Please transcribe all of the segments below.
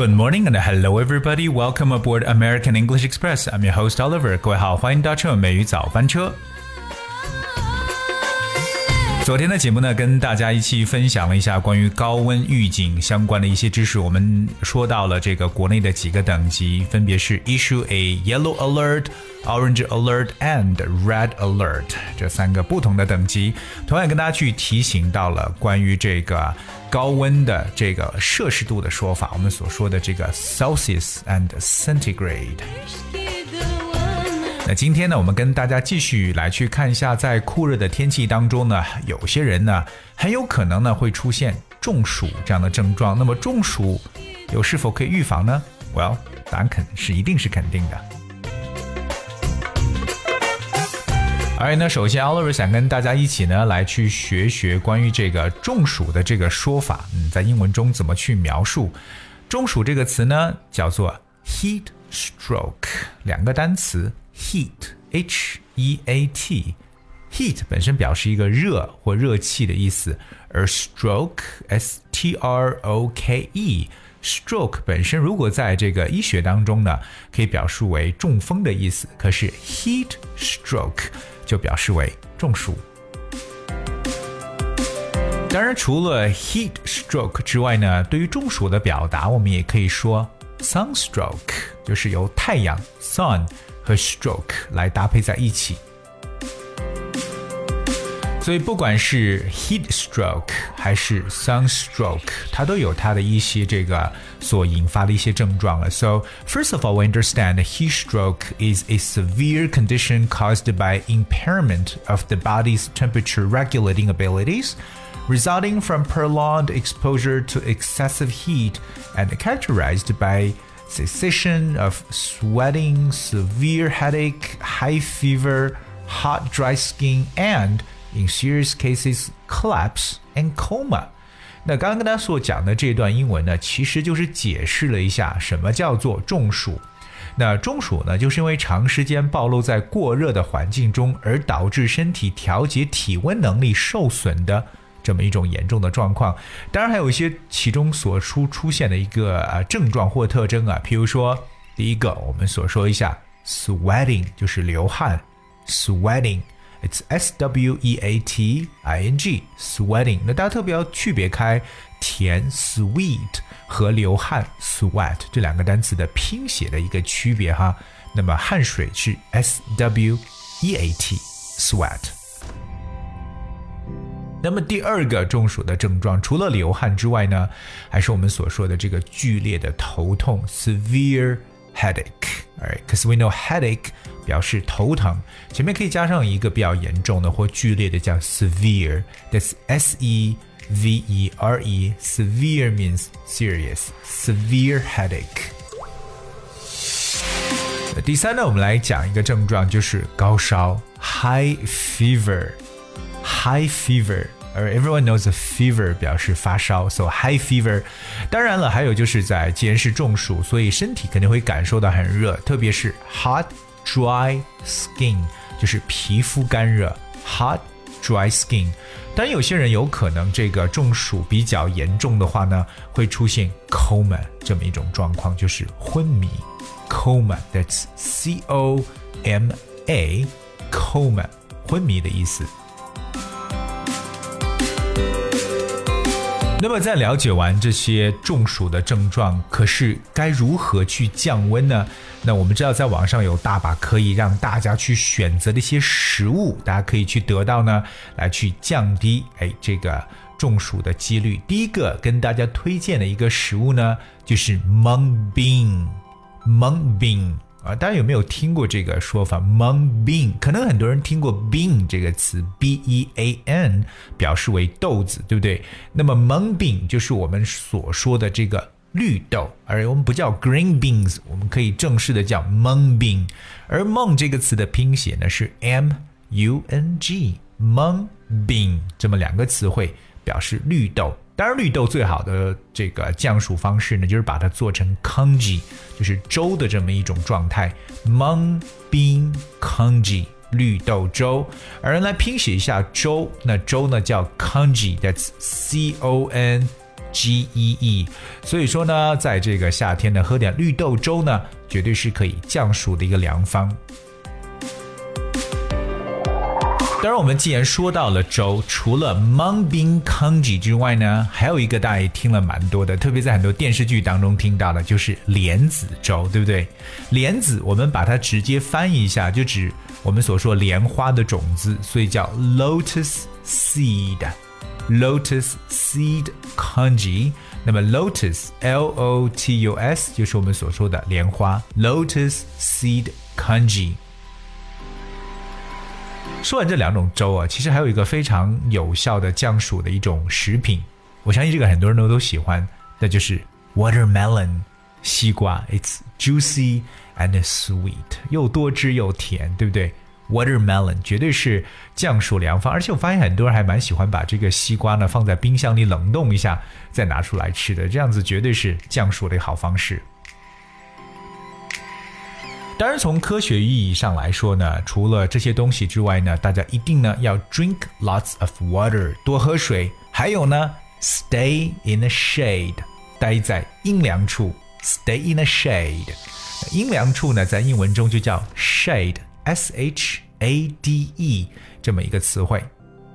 Good morning and hello everybody. Welcome aboard American English Express. I'm your host Oliver. 各位好，欢迎搭乘美语早班车。昨天的节目呢，跟大家一起分享了一下关于高温预警相关的一些知识。我们说到了这个国内的几个等级，分别是 Issue A Yellow Alert、Orange Alert and Red Alert 这三个不同的等级。同样跟大家去提醒到了关于这个高温的这个摄氏度的说法，我们所说的这个 Celsius and Centigrade。那今天呢，我们跟大家继续来去看一下，在酷热的天气当中呢，有些人呢很有可能呢会出现中暑这样的症状。那么中暑又是否可以预防呢？ Well， 答案一定是肯定的。而呢，首先 Oliver 想跟大家一起呢来去学学关于这个中暑的这个说法，在英文中怎么去描述中暑这个词呢？叫做 heat stroke， 两个单词。Heat, H-E-A-T Heat 本身表示一个热或热气的意思，而 stroke, S-T-R-O-K-E Stroke 本身如果在这个医学当中呢，可以表述为中风的意思，可是 heat stroke 就表示为中暑。当然除了 heat stroke 之外呢，对于中暑的表达我们也可以说 sunstroke， 就是由太阳 sun和 stroke 来搭配在一起，所以不管是 heat stroke 还是 sunstroke， 它都有它的一些这个所引发的一些症状了。So first of all, we understand heat stroke is a severe condition caused by impairment of the body's temperature regulating abilities, resulting from prolonged exposure to excessive heat and characterized by cessation of sweating, severe headache, high fever, hot dry skin, and, in serious cases, collapse and coma. 那刚刚跟大家所讲的这段英文呢，其实就是解释了一下什么叫做中暑。那中暑呢，就是因为长时间暴露在过热的环境中，而导致身体调节体温能力受损的这么一种严重的状况。当然还有一些其中所出现的一个症状或特征啊，譬如说第一个我们所说一下 sweating 就是流汗 sweating it's S-W-E-A-T-I-N-G sweating。 那大家特别要区别开甜 sweet 和流汗 sweat 这两个单词的拼写的一个区别哈。那么汗水是 S-W-E-A-T sweat。那么第二个中暑的症状，除了流汗之外呢，还是我们所说的这个剧烈的头痛 severe headache。 Alright, because we know headache 表示头疼，前面可以加上一个比较严重的或剧烈的叫 severe， that's S-E-V-E-R-E severe means serious severe headache。 第三呢，我们来讲一个症状，就是高烧 high fever。High fever, everyone knows a fever 表示发烧 so high fever。 当然了，还有就是既然是中暑，所以身体肯定会感受到很热，特别是 hot dry skin 就是皮肤干热 hot dry skin。 当然有些人有可能这个中暑比较严重的话呢，会出现 coma 这么一种状况，就是昏迷 coma, that's C-O-M-A coma 昏迷的意思。那么在了解完这些中暑的症状，可是该如何去降温呢？那我们知道在网上有大把可以让大家去选择的一些食物，大家可以去得到呢，来去降低这个中暑的几率。第一个跟大家推荐的一个食物呢，就是 mung bean。 大家有没有听过这个说法 mung bean？ 可能很多人听过 bean 这个词 B-E-A-N 表示为豆子，对不对？那么 mung bean 就是我们所说的这个绿豆，而我们不叫 green beans， 我们可以正式的叫 mung bean。 而 mung 这个词的拼写呢是 M-U-N-G mung bean， 这么两个词汇表示绿豆。当然绿豆最好的这个降暑方式呢，就是把它做成 congee， 就是粥的这么一种状态 mung bean congee 绿豆粥。而来拼写一下粥，那粥呢叫 congee， that's C-O-N GEE。所以说呢，在这个夏天呢，喝点绿豆粥呢，绝对是可以降暑的一个良方。当然我们既然说到了粥，除了 mung bean congee 之外呢，还有一个大家也听了蛮多的，特别在很多电视剧当中听到的，就是莲子粥，对不对？莲子我们把它直接翻译一下，就指我们所说莲花的种子，所以叫 lotus seed congee。那么 lotus L-O-T-U-S 就是我们所说的莲花 lotus seed congee。说完这两种粥啊，其实还有一个非常有效的降暑的一种食品，我相信这个很多人都喜欢，那就是 watermelon 西瓜。 It's juicy and sweet， 又多汁又甜，对不对？ Watermelon 绝对是降暑良方，而且我发现很多人还蛮喜欢把这个西瓜呢放在冰箱里冷冻一下再拿出来吃的，这样子绝对是降暑的一个好方式。当然从科学意义上来说呢，除了这些东西之外呢，大家一定呢要 drink lots of water， 多喝水，还有呢 stay in the shade， 待在阴凉处 stay in the shade。 阴凉处呢在英文中就叫 shade S-H-A-D-E 这么一个词汇。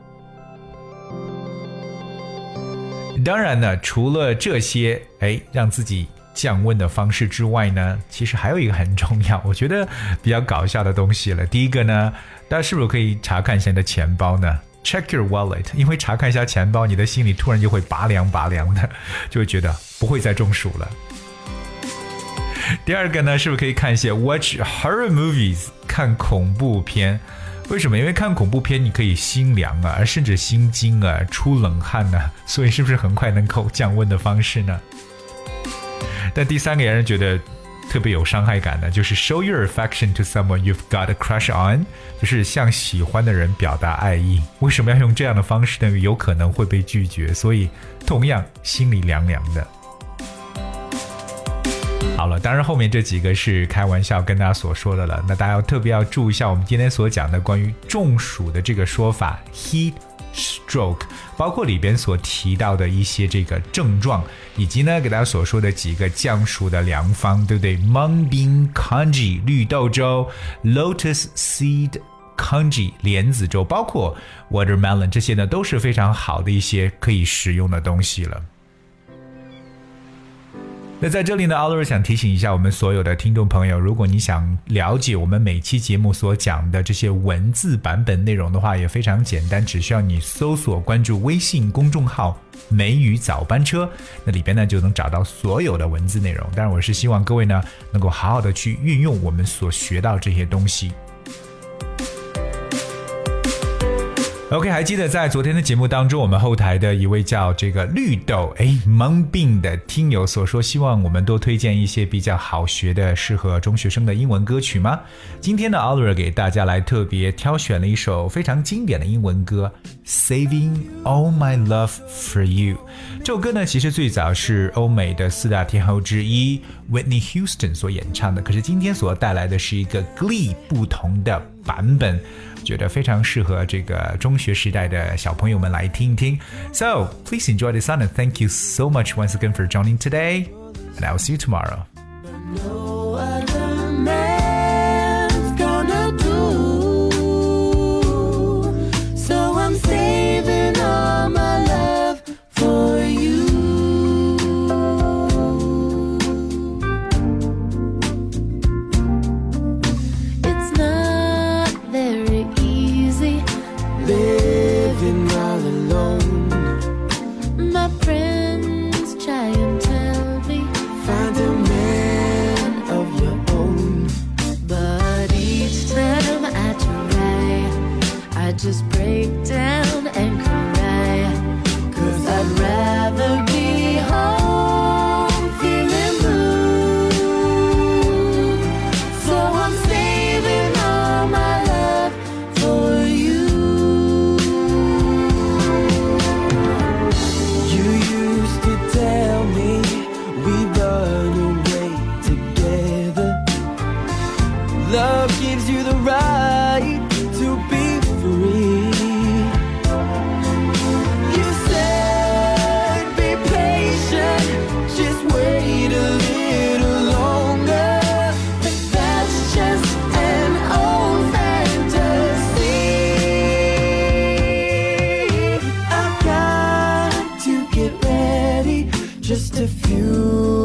当然呢，除了这些让自己降温的方式之外呢，其实还有一个很重要，我觉得比较搞笑的东西了。第一个呢，大家是不是可以查看一下你的钱包呢？ Check your wallet， 因为查看一下钱包，你的心里突然就会拔凉拔凉的，就会觉得不会再中暑了。第二个呢，是不是可以看一些 watch horror movies， 看恐怖片？为什么？因为看恐怖片你可以心凉啊，甚至心惊啊，出冷汗啊，所以是不是很快能够降温的方式呢？但第三个也让人觉得特别有伤害感的，就是 show your affection to someone you've got a crush on， 就是向喜欢的人表达爱意。为什么要用这样的方式呢？有可能会被拒绝，所以同样心里凉凉的。好了，当然后面这几个是开玩笑跟大家所说的了，那大家特别要注意一下我们今天所讲的关于中暑的这个说法 heat stroke， 包括里边所提到的一些这个症状，以及呢给大家所说的几个降暑的良方，对不对？ mung bean congee 绿豆粥， lotus seed congee 莲子粥，包括 watermelon， 这些呢都是非常好的一些可以食用的东西了。那在这里呢， Oliver 想提醒一下我们所有的听众朋友，如果你想了解我们每期节目所讲的这些文字版本内容的话，也非常简单，只需要你搜索关注微信公众号梅雨早班车，那里边呢就能找到所有的文字内容。当然我是希望各位呢能够好好的去运用我们所学到这些东西。OK， 还记得在昨天的节目当中，我们后台的一位叫这个绿豆mung bean 的听友所说，希望我们多推荐一些比较好学的适合中学生的英文歌曲吗？今天呢 Oliver 给大家来特别挑选了一首非常经典的英文歌 Saving All My Love For You。 这首歌呢其实最早是欧美的四大天后之一 Whitney Houston 所演唱的，可是今天所带来的是一个 Glee 不同的版本，觉得非常适合这个中学时代的小朋友们来听一听。 So please enjoy the song and thank you so much once again for joining today, and I will see you tomorrow. No other man's gonna do, so I'm saving all my love for you. It's not very easy living all alone. My friends try and tell me find a man just a few